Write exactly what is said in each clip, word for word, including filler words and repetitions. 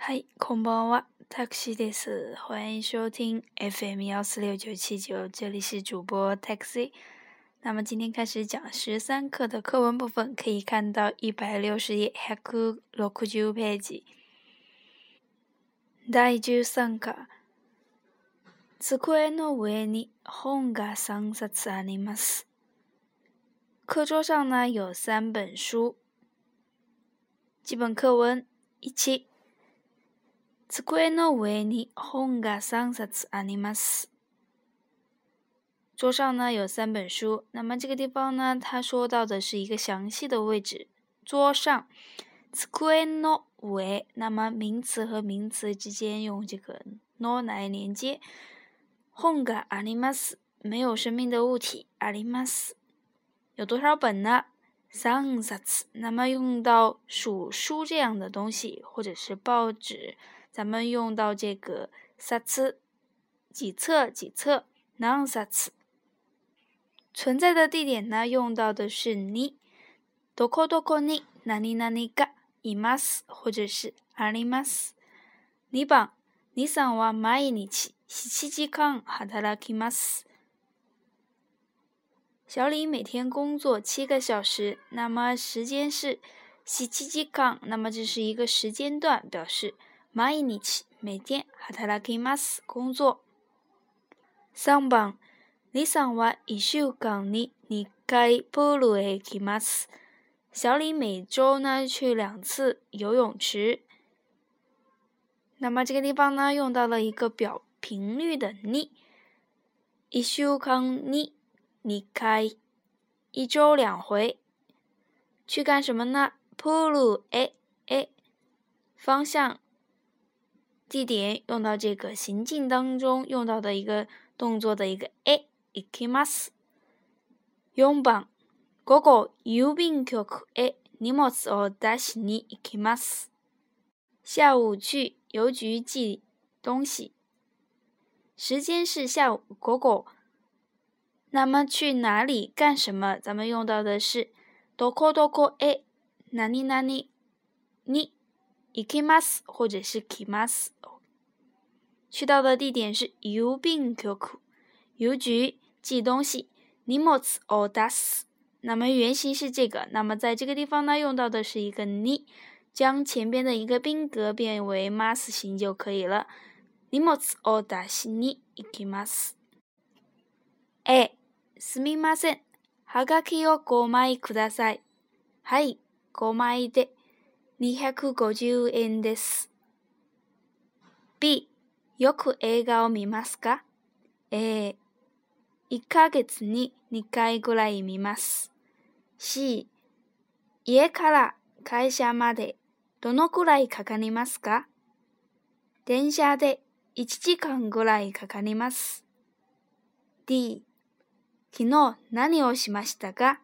嗨，こんばんは，タクシーです。欢迎收听 F M 幺四六九七九，这里是主播 Taxi。那么今天开始讲十三课的课文部分，可以看到一百六十页百六十ページ。第十三課。机の上に本が三冊あります。课桌上呢有三本书。基本课文一。机の上に本が三冊あります。桌上呢有三本书，那么这个地方呢，他说到的是一个详细的位置，桌上。机の上，那么名词和名词之间用这个の来连接。本があります，没有生命的物体，あります。有多少本呢？三冊，那么用到数书这样的东西，或者是报纸，咱们用到这个冊，几册几册，何冊。存在的地点呢，用到的是に，どこどこに何々がいます，或者是あります。にばん、にさんは毎日七時間働きます。小李每天工作七个小时，那么时间是七時間，那么这是一个时间段，表示毎日每天働きます工作。さんばん、李さんは一週間に二回プールへ行きます。小李每周呢去两次游泳池。那么这个地方呢用到了一个表频率的に，一週間に二回，一周两回。去干什么呢？プールへへ，方向地点用到这个行进当中用到的一个动作的一个へ行きます。四番、午後郵便局へ荷物を出しに行きます。下午去邮局寄东西。时间是下午午後。那么去哪里干什么？咱们用到的是どこどこへ何々に行きます，或者是来ます。去到的地点是郵便局，邮局寄东西。荷物を出す，那么原型是这个，那么在这个地方呢用到的是一个に，将前边的一个宾格变为ます形就可以了。荷物を出しに行きます。A、すみません。はがきをごまいください。はい、ごまいでにひゃくごじゅうえんです。B、よく映画を見ますか？えー、いっかげつににかいぐらい見ます。C、家から会社までどのくらいかかりますか？電車でいちじかんぐらいかかります。D、昨日何をしましたか？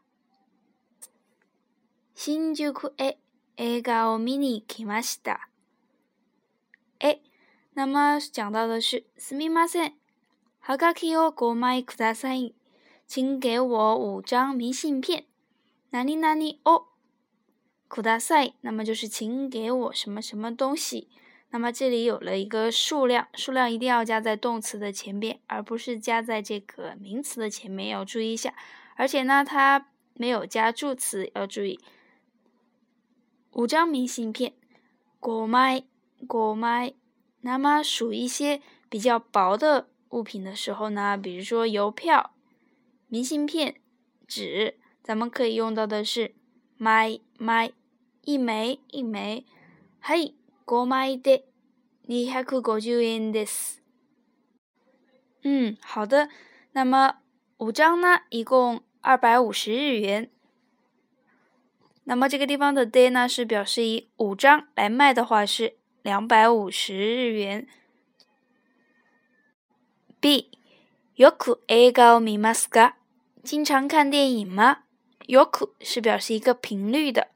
新宿へ映画を見に行きました。え、那么讲到的是すみません。はがきをごまいください。请给我五张明信片。何々をください。那么就是请给我什么什么东西。那么这里有了一个数量，数量一定要加在动词的前边，而不是加在这个名词的前面，要注意一下。而且呢，它没有加助词，要注意。五张明信片，五枚，五枚。那么数一些比较薄的物品的时候呢，比如说邮票、明信片、纸，咱们可以用到的是枚、枚，一枚一枚。はい、五枚でにひゃくごじゅうえんです。嗯，好的。那么五张呢，一共二百五十日元。那么这个地方的で呢，是表示以五张来卖的话是两百五十日元。B、よく映画を見ますか？经常看电影吗？よく是表示一个频率的。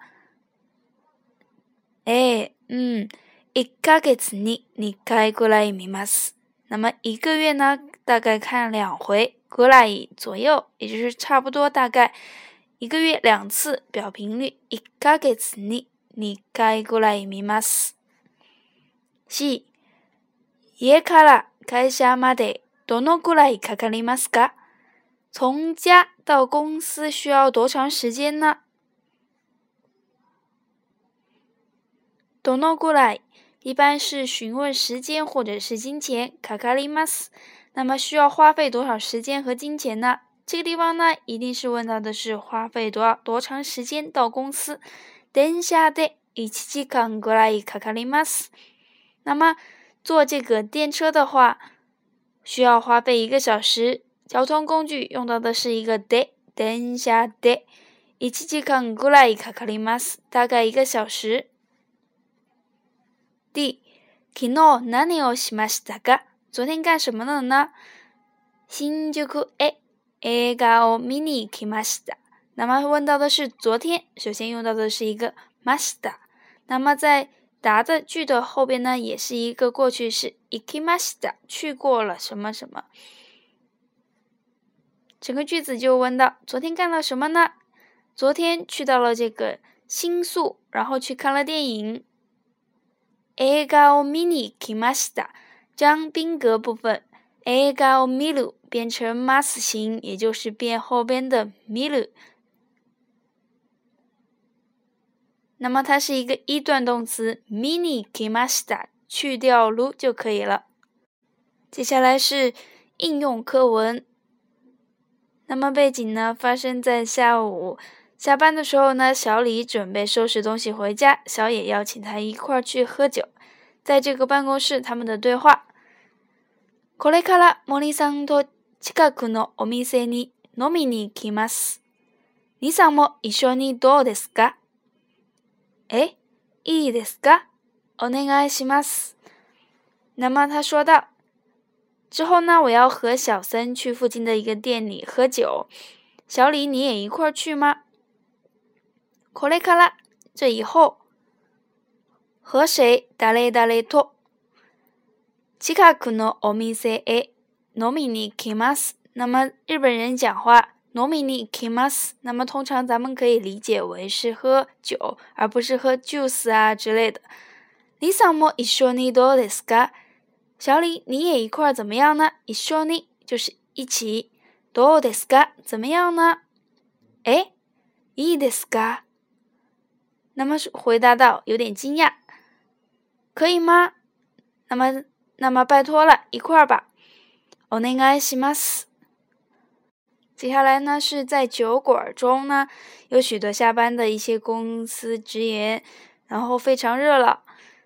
哎，嗯。一ヶ月に二回ぐらい見ます。那么一个月呢，大概看两回，ぐらい左右，也就是差不多大概一个月两次，表频率。一ヶ月に二回ぐらい見ます。 し、家から会社までどのくらいかかりますか？从家到公司需要多长时间呢？どのくらい一般是询问时间或者是金钱，かかります。那么需要花费多少时间和金钱呢？这个地方呢，一定是问到的是花费多少多长时間到公司。電車でいちじかんぐらいかかります。那么坐这个电车的话，需要花费一个小时。交通工具用到的是一个で、電車でいちじかんぐらいかかります。大概一个小时。D、昨日何をしましたか？昨天干什么了呢？新宿へ映画を見に行きました。那么问到的是昨天，首先用到的是一个ました。那么在答的句的后边呢，也是一个过去式，行きました，去过了什么什么。整个句子就问到昨天干了什么呢？昨天去到了这个新宿，然后去看了电影。映画を見に行きました，将宾格部分映画を見る变成ます形，也就是变后边的見る。那么它是一个一段动词，見に行きました，去掉る就可以了。接下来是应用课文。那么背景呢，发生在下午下班的时候呢，小李准备收拾东西回家，小野邀请他一块儿去喝酒。在这个办公室，他们的对话。これから森さんと近くのお店に飲みに行きます。兄さんも一緒にどうですか？え、いいですか？お願いします。那么他说道，之后呢，我要和小森去附近的一个店里喝酒。小李，你也一块儿去吗？これから这以后，和谁？誰々と近くのお店へ飲みに行きます。那么日本人讲话飲みに行きます，那么通常咱们可以理解为是喝酒，而不是喝 juice 啊之类的。兄さんも一緒にどうですか？小李，你也一块怎么样呢？一緒に就是一起，どうですか？怎么样呢？诶，いいですか？那么回答到有点惊讶，可以吗？那么那么拜托了，一块吧。お願いします。接下来呢，是在酒馆中呢，有许多下班的一些公司职员，然后非常热闹。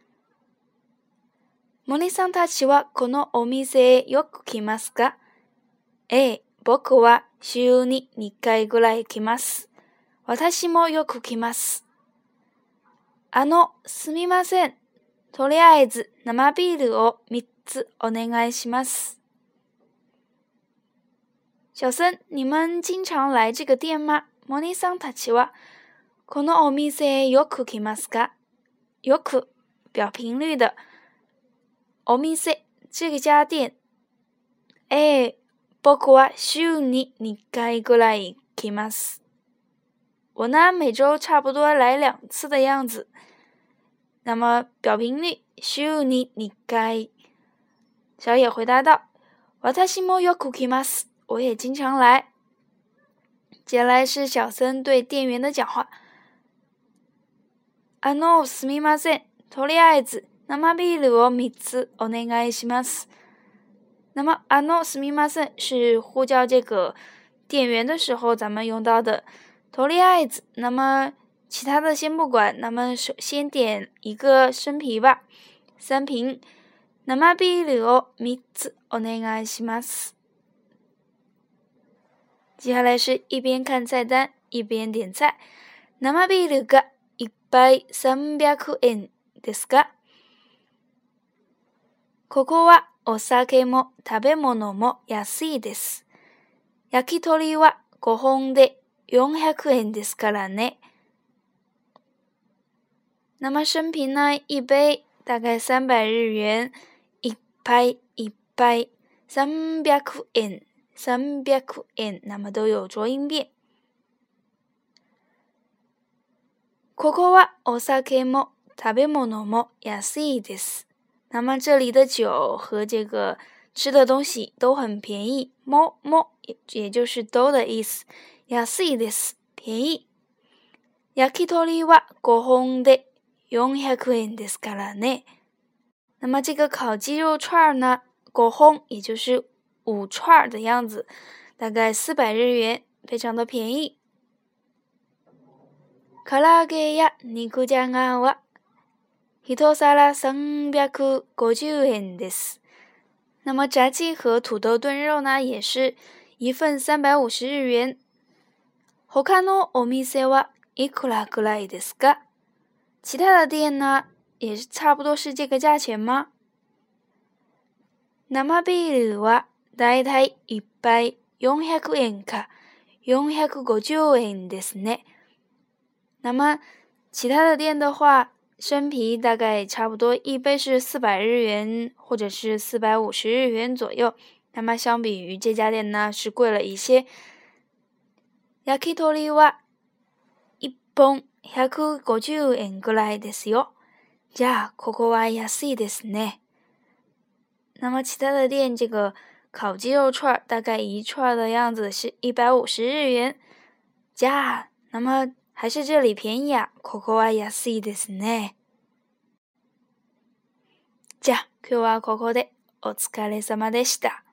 森さんたちはこのお店へよく来ますか？ええ、僕は週ににかいぐらい来ます。私もよく来ます。あの、すみません。とりあえず生ビールをみっつお願いします。小森，你们经常来这个店吗？森さんたちはこのお店へよく来ますか？よく表频率的。お店这个家店。ええ、僕は週ににかいぐらい来ます。我呢，每周差不多来两次的样子。那么表频率週ににかい。小野回答道：私もよく来ます。我也经常来。接下来是小森对店员的讲话。あの、すみません。とりあえず生ビールをみっつお願いします。那么あのすみません是呼叫这个店员的时候咱们用到的。とりあえず，那么其他的先不管，那么首先点一个生啤吧，三瓶。生ビールをみっつお願いします。接下来是一边看菜单一边点菜。生ビールが一杯さんびゃくえんですか？ここはお酒も食べ物も安いです。焼き鳥はごほんでよんひゃくえんですからね。那么生啤呢，一杯大概三百日元，一杯一杯三百円。三百円，那么都有浊音变。ここはお酒も食べ物も安いです。 那么这里的酒和这个吃的东西都很便宜，もも也也就是都的意思。安いです，便宜。焼き鳥はご本でよんひゃくえんですからね。那么这个烤鸡肉串呢，ご本也就是五串的样子，大概四百日元，非常的便宜。唐揚げや肉じゃがは一皿さんびゃくごじゅうえんです。那么炸鸡和土豆炖肉呢，也是一份三百五十日元。他のお店はいくらくらいですか？其他的店呢，也是差不多是这个价钱吗？生ビールはだいたい一杯よんひゃくえんかよんひゃくごじゅうえんですね。那么其他的店的话，生啤大概差不多一杯是四百日元或者是四百五十日元左右，那么相比于这家店呢是贵了一些。焼き鳥は一本ひゃくごじゅうえんぐらいですよ。じゃあここは安いですね。那么其他的店这个烤鸡肉串大概一串的样子是一百五十日元。じゃあ那么还是这里便宜啊。ここは安いですね。じゃあ今日はここでお疲れ様でした。